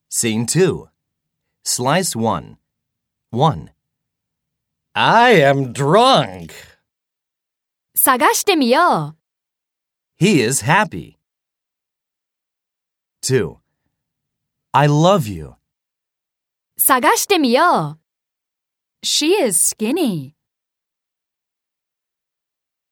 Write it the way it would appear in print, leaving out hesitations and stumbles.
Scene 2. Slice 1. 1. I am drunk. 探してみよう。 He is happy. 2. I love you. 探してみよう。She is skinny.